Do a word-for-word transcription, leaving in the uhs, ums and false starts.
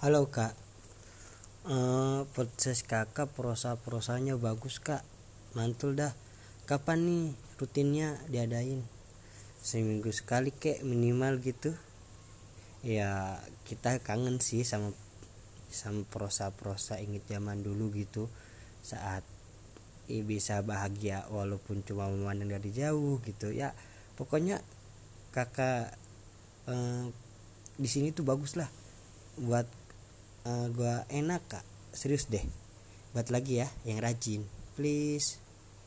Halo kak, eh podcast kakak prosa-prosanya bagus kak, mantul dah. Kapan nih rutinnya diadain? Seminggu sekali kek minimal gitu. Ya kita kangen sih sama sama prosa-prosa inget zaman dulu gitu. Saat eh, bisa bahagia walaupun cuma memandang dari jauh gitu ya. Pokoknya kakak eh, di sini tuh bagus lah buat uh, gua enak kak, serius deh, buat lagi ya yang rajin please.